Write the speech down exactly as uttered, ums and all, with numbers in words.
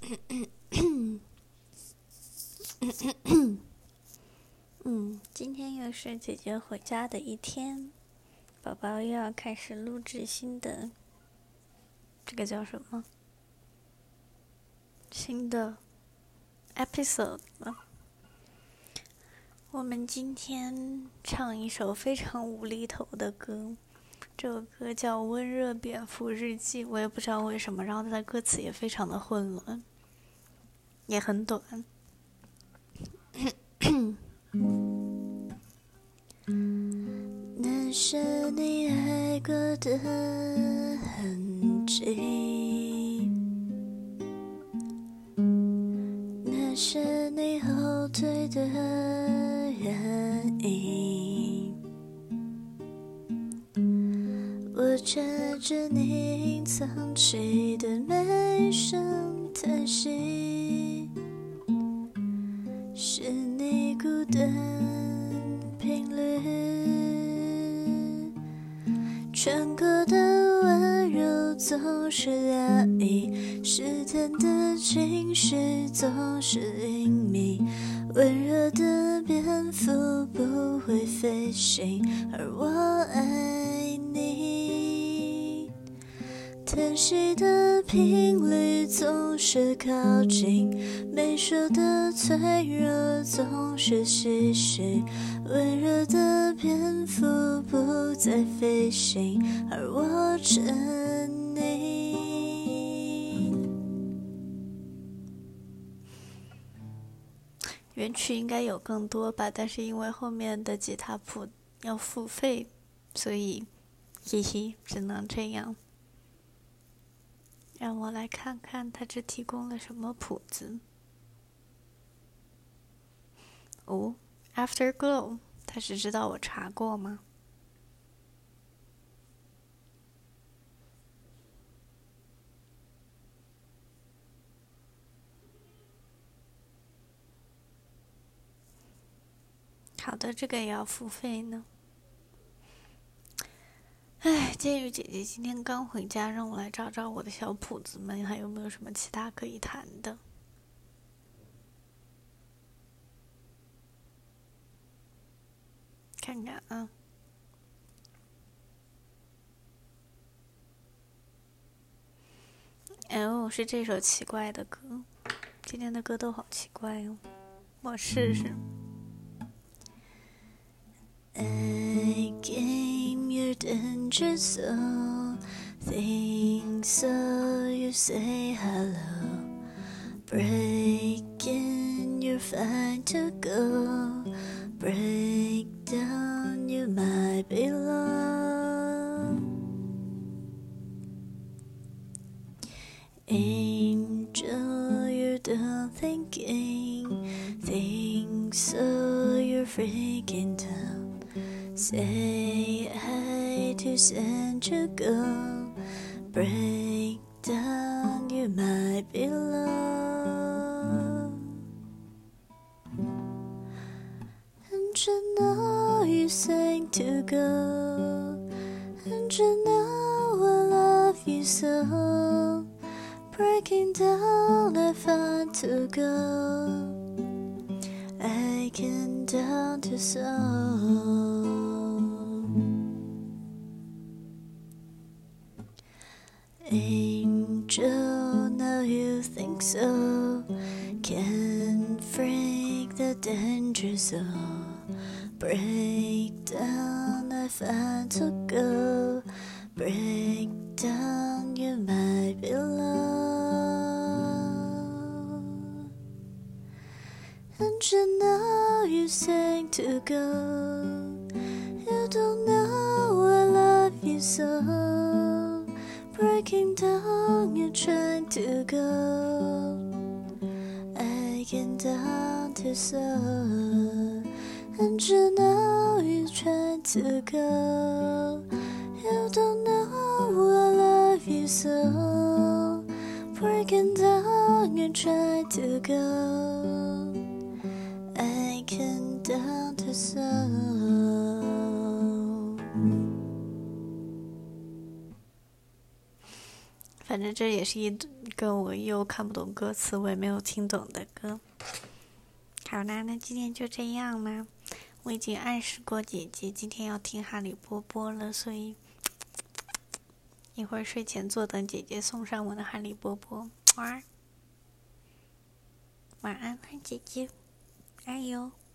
嗯，今天又是姐姐回家的一天，宝宝又要开始录制新的，这个叫什么？新的 episode 了。我们今天唱一首非常无厘头的歌，这首歌叫《温热蝙蝠日记》，我也不知道为什么，然后它的歌词也非常的混乱，也很短。那是你爱过的痕迹，那是你后退的原因，我牵着你隐藏起的每声叹息，是你孤单频率，穿过的温柔总是压抑，试探的情绪总是隐秘，温热的蝙蝠不会飞行，而我爱你，叹息的频率总是靠近，没说的脆弱总是唏嘘，温热的蝙蝠不再飞行，而我沉溺。原曲应该有更多吧，但是因为后面的吉他谱要付费，所以嘿嘿，只能这样。让我来看看他这提供了什么谱子。哦 Afterglow， 他是知道我查过吗？好的，这个也要付费呢。唉，鉴于姐姐今天刚回家，让我来找找我的小谱子们还有没有什么其他可以弹的。看看啊。哦，是这首奇怪的歌。今天的歌都好奇怪哦，我试试。I came your danger zone, think so you say hello, breaking you're fine to go, break down you might belong, angel you're done thinking, think so you're freaking down, say hi to send you go, break down you might belong, and you know you sang to go, and you know I love you so, breaking down I find to go, I can down to soul. Angel, now you think so, can break the danger zone, break down I find to go, break down you might belong, and you know you sang to go, you don't know I love you so, breaking down you trying to go, I can down to soul, and you know you trying to go, you don't know I love you so, breaking down you trying to go, I can down to soul. 反正这也是一个我又看不懂歌词，我也没有听懂的歌。好啦，那今天就这样啦。我已经暗示过姐姐今天要听哈利波波了，所以一会儿睡前坐等姐姐送上我的哈利波波。晚安，姐姐，加油。